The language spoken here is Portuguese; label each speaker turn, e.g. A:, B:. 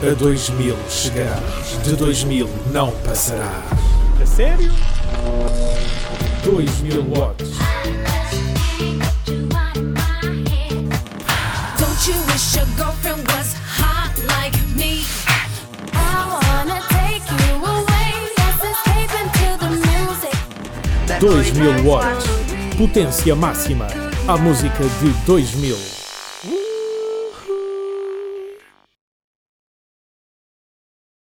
A: A 2000 chegarás, de 2000 não passarás.
B: A sério?
A: 2000 watts.
C: Don't you wish your girlfriend was hot like me? I wanna take you away. Let's escape into the music.
A: 2000 watts. Potência máxima. A música de 2000.